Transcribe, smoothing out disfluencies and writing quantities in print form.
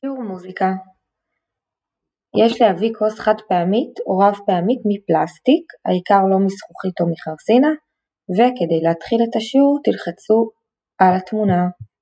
שיעור מוזיקה. יש להביא כוס חד פעמית או רב פעמית מפלסטיק, העיקר לא מזכוכית או מחרסינה, וכדי להתחיל את השיעור תלחצו על התמונה.